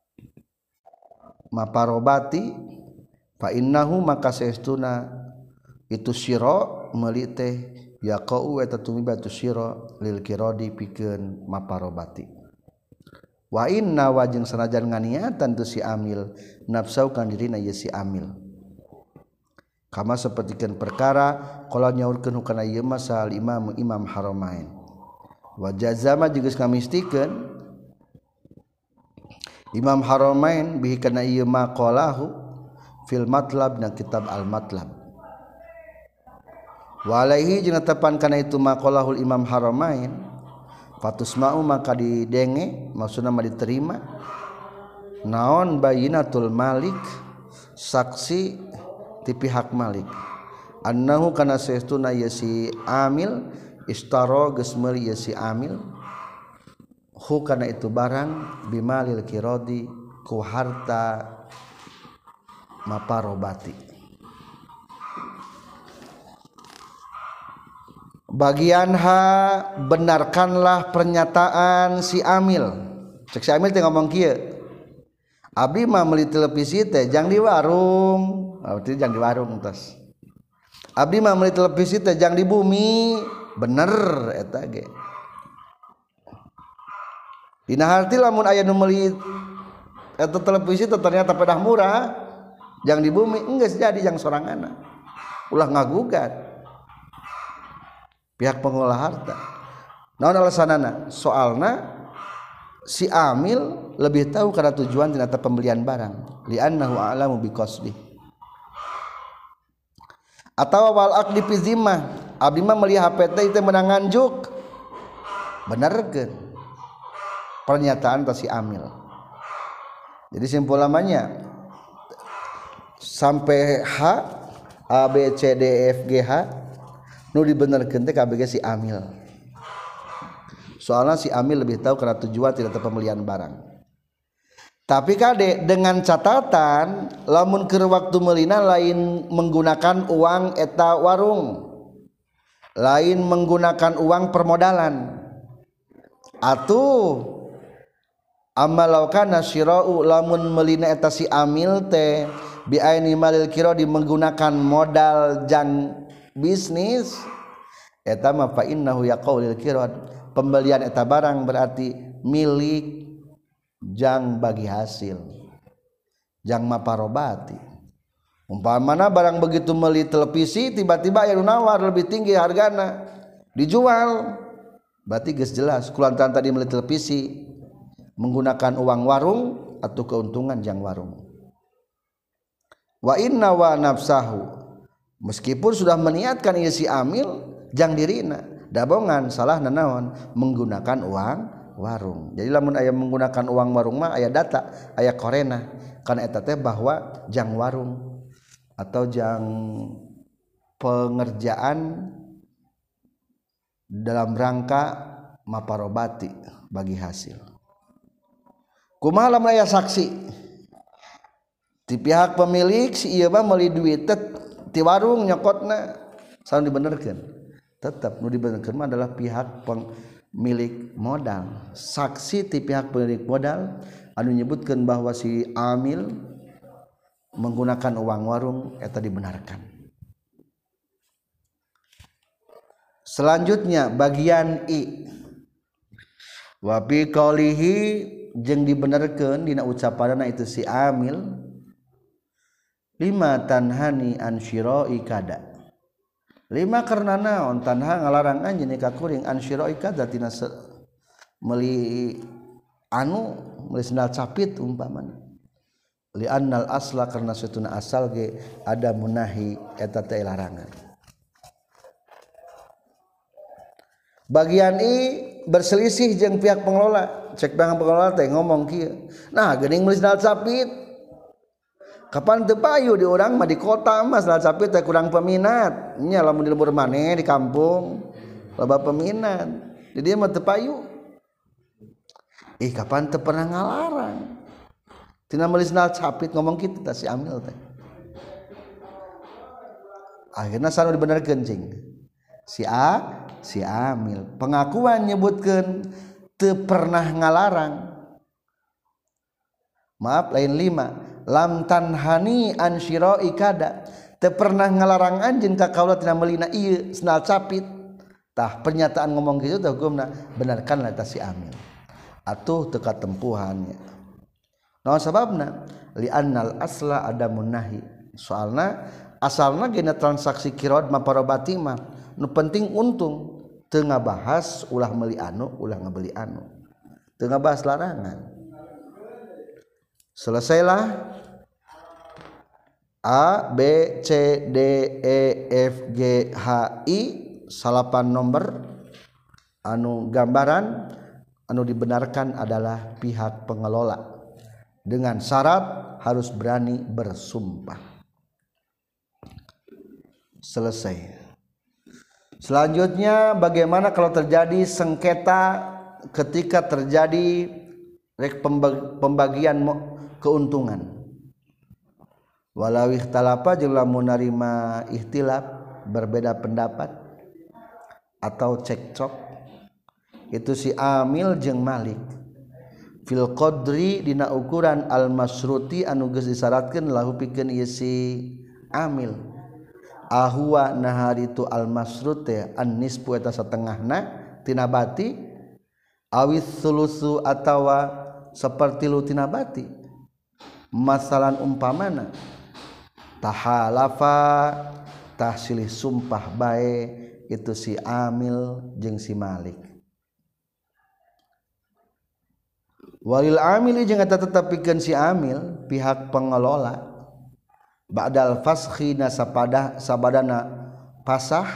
maparobati fa innahu maka saestuna itu syira meuli teh yaqau eta tumibatu syira lil kiradi pikeun maparobati wa inna wajin sanajan nganiatan tu si amil nafsau kan dirina ieu si amil kama sapertikeun perkara qala nyaurkeun hukana ieu mah sal imam imam haramain wa jazama jeung geus ngamistikeun imam haramain bihi kana ieu mah qalahu fil matlab na kitab al matlab walaihi jeung tepan kana itu maqalahul imam haramain fatusma'u maka didenge maksudna mah diterima naon bayinatul malik saksi ti pihak malik annahu kana saestuna ieu si amil istara geus meuli ieu si amil hu kana itu barang bimalil kiradi ku harta maparobati. Bagian H benarkanlah pernyataan si amil. Cek si amil teh ngomong kieu. Abdi mah meuli televisi teh jang di warung. Berarti jang di warung tos. Abdi mah meuli televisi teh jang di bumi. Bener eta ge. Dina harti lamun aya nu meuli eta televisi teh ternyata pedah murah, jang di bumi enggeus jadi jang soranganna. Ulah ngagugat. Pihak pengelola harta. Naon alasanana? Soalna si amil lebih tahu karena tujuan tina pembelian barang. Li'annahu a'lamu biqasdi. Atawa wal aqdi fi zimmah. Abdi mah meuli H P teh teh meunang nganjuk. Benerkeun. Pernyataan ta si amil. Jadi simpulannya sampai H A B C D E F G H nu dibenerkeun teh kabeh si amil. Soalnya si amil lebih tahu karena tujuan tidak pembelian barang. Tapi kade dengan catatan lamun keur waktu meulina lain menggunakan uang eta warung. lain menggunakan uang permodalan. Atuh amalaukana syira'u lamun melina eta si amil teh bi aini malil kiradi menggunakan modal jang bisnis eta mah fa innahu yaqaulil kirad pembelian eta barang berarti milik jang bagi hasil jang maparobati. Umpamana barang begitu meuli televisi tiba-tiba aya nawar lebih tinggi hargana dijual berarti geus jelas kulantaran tadi meuli televisi menggunakan uang warung atau keuntungan jang warung. Wa inna wa nafsahu meskipun sudah meniatkan ieu si amil jang dirina dabongan salah nanaon menggunakan uang warung. Jadi lamun aya menggunakan uang warung mah aya data aya korena kana eta teh bahwa jang warung atau jang pengerjaan dalam rangka maparobati bagi hasil. Kumaha lamun aya saksi ti pihak pemilik si ieu mah meuli duit ti warung nyokotna saon dibenerkeun tetep nu dibenerkeun mah adalah pihak pemilik modal. Saksi ti pihak pemilik modal anu nyebutkeun bahwa si amil menggunakan uang warung eta dibenarkan. Selanjutnya bagian I wa bi qaulihi jeung dibenerkeun dina ucapanna itu si amil lima tanhani an syira'i kada lima karena naon tanha ngalarang anjeun ka kuring an syira'i kada tina meuli anu meuli sendal capit umpamana li annal asla karena satuna asal ge ada munahi eta teh larangan. Bagian I berselisih jeung pihak pengelola cek pihak pengelola teh ngomong kieu nah geuning meuli sendal capit kapan teu payu di urang mah di kota mah sendal capit teh kurang peminat nya lamun di lembur maneh di kampung loba peminat di dieu mah teu payu ih kapan teu pernah ngalarang tina meuli sendal capit ngomong kitu tah si amil teh akhirna sanu dibenerkeun cing si A si amil pengakuan nyebutkeun teu pernah ngalarang maaf lain lima lam tanhani an syira'i kada teu pernah ngalarang anjeun ka kaula tina meulina ieu sendal capit tah pernyataan ngomong kitu teh hukumna benarkanlah tah si amil atuh teu katempuhannya. Naon sababna li annal asla adamun nahi soalna asalna gina transaksi kirad maparobati mah nu penting untung teu ngabahas ulah meuli anu ulah ngabeli anu teu ngabahas larangan. Selesailah A B C D E F G H I salapan nomor anu gambaran anu dibenarkan adalah pihak pengelola dengan syarat harus berani bersumpah. Selesai. Selanjutnya bagaimana kalau terjadi sengketa ketika terjadi pembagian keuntungan. Walau ikhtalafa jeung lamun narima ikhtilaf berbeda pendapat atau cekcok itu si amil jeung malik fil qadri dina ukuran al masruti anu geus disyaratkeun lahu pikeun ieu si amil ahwa naharitu al masrut teh an nisfu eta satengahna tina bati awis sulusu atawa sapertilu tina bati masalan umpamana tahalafa tahsilih sumpah bae itu si amil jeung si malik. Walil amili jeung eta tetepikeun si amil pihak pengelola ba'dal faskhi na sapada sabadana pasah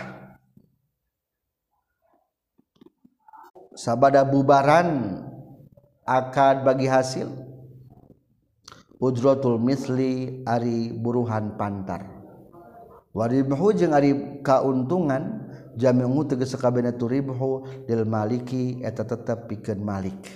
sabada bubaran akad bagi hasil ujratul misli ari buruhan pantar waribhu jeung ari kauntungan jami'u tegas sakabehna tu ribhu lil maliki eta tetep pikeun malik.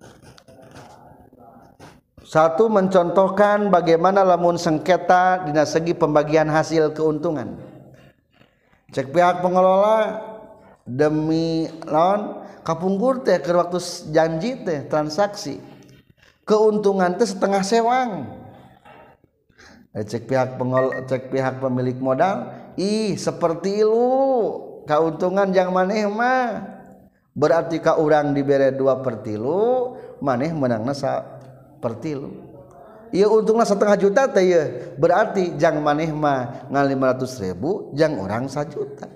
Satu mencontohkan bagaimana lamun sengketa dina segi pembagian hasil keuntungan. Cek pihak pengelola demi lawan kapungkur teh ke waktu janji teh transaksi keuntungan teh setengah sewang. Cek pihak pengol cek pihak pemilik modal, ih seperti lu keuntungan yang maneh mah berarti ka urang dibere dua per tilu maneh menangna sa per tilu. Ieu untungna setengah juta teh ieu berarti jang maneh mah ngan lima ratus ribu jang urang sajuta.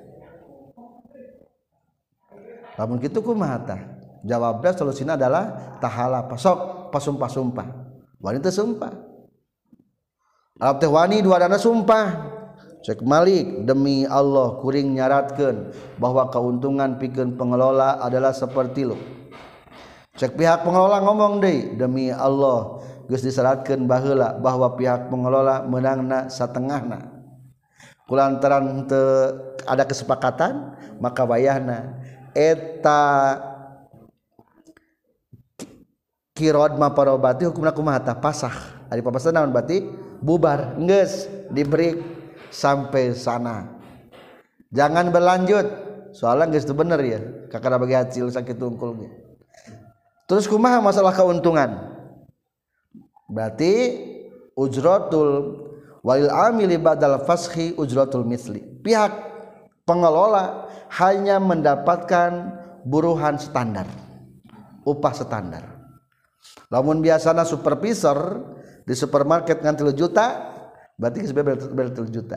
Lamun kitu kumaha tah? Jawabna solusina adalah tahala pasok pasumpah-sumpah. Wanita sumpah. Arab teh wani duadana sumpah. Cek Malik demi Allah kuring nyaratkeun bahwa keuntungan pikeun pengelola adalah seperti lu. Cek pihak pengelola ngomong deui demi Allah geus disyaratkeun baheula bahwa pihak pengelola meunangna satengahna. Kulantaran teu ada kesepakatan maka wayahna eta kirod maparobati hukumna kumaha tah pasah. Ari papasan naon berarti bubar geus diberi sampai sana. Jangan berlanjut. Soalnya geus teu bener ya. Kakana bagi hasil sakitu unggul ge. Terus kumaha masalah keuntungan? Berarti ujratul walil amili badal fashi ujratul misli. Pihak pengelola hanya mendapatkan buruhan standar. Upah standar. Lamun biasana supervisor di supermarket ngan tilu juta berarti sebenarnya tilu juta.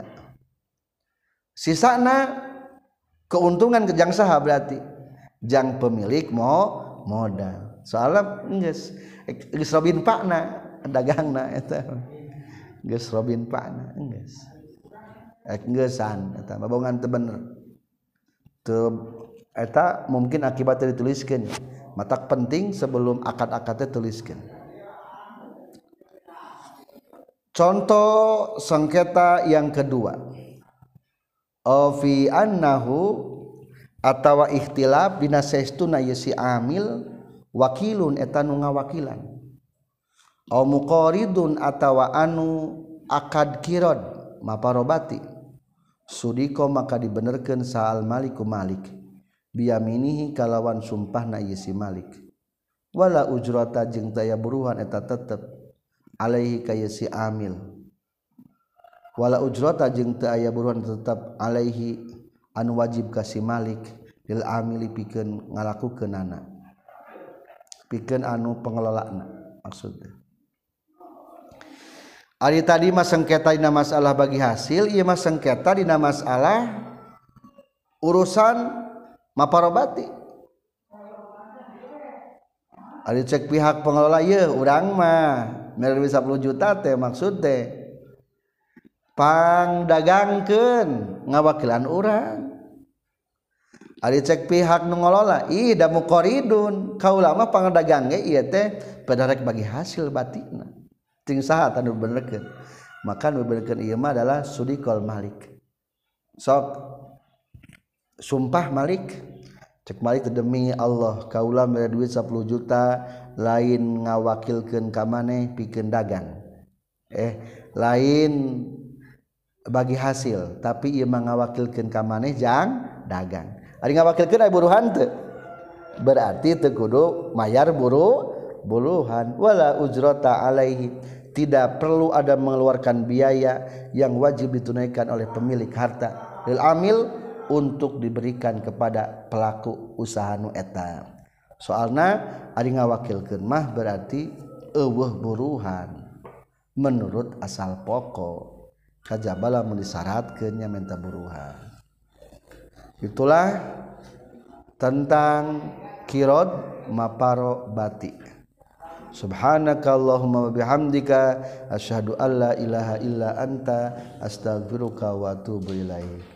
Sisana keuntungan ke jang saha berarti jang pemilik mo modal. Soalnya geus geus robin pakna dagangna eta. Geus robin pakna geus. Ek geusan eta babongan teu bener. Teu eta mungkin akibatnya dituliskeun. Matak penting sebelum akad-akadnya tuliskeun. Contoh sengketa yang kedua, fi annahu atawa ikhtilaf bina saestuna yasi amil wakilun eta nu ngawakilan, au muqaridun atawa anu akad kirod maparobati sudiko maka dibenerkeun saal maliku malik biyaminihi kalawan sumpahna yasi malik wala ujrata jeung daya buruhan eta tetep alaihi kaya si amil wala ujrata jeung teu aya buruhan tetep alaihi anu wajib ka si malik lil amili pikeun ngalakukeunana pikeun anu pengelolaana maksudna. Ari tadi mah sengketa dina masalah bagi hasil, ieu mah sengketa dina masalah urusan maparobati. Ari cek pihak pengelola ieu urang mah mere sepuluh juta teh maksud teh pang dagangkeun ngawakilan urang. Ari cek pihak nu ngolola ih da muqaridun kaula mah pang dagang ge ieu teh padarek bagi hasil batina ting saha tanu benerkeun maka nu benerkeun ieu mah adalah sudikol malik sok sumpah malik cek malik demi Allah kaula mere duit sepuluh juta lain ngawakilkeun ka maneh pikeun dagang eh lain bagi hasil tapi ieu mah ngawakilkeun ka maneh jang dagang ari ngawakilkeun aya buruhan teu berarti teu kudu mayar buru buruhan wala ujrata alaihi tidak perlu ada mengeluarkan biaya yang wajib ditunaikan oleh pemilik harta lil amil untuk diberikan kepada pelaku usaha nu eta. Soalna ari ngawakilkeun mah berarti eueuh buruhan menurut asal pokok kajaba lamun disyaratkeun nya minta buruhan. Itulah tentang kirod maparo bati. Subhanakallahumma wa bihamdika asyhadu alla ilaha illa anta astaghfiruka wa atubu ilaik.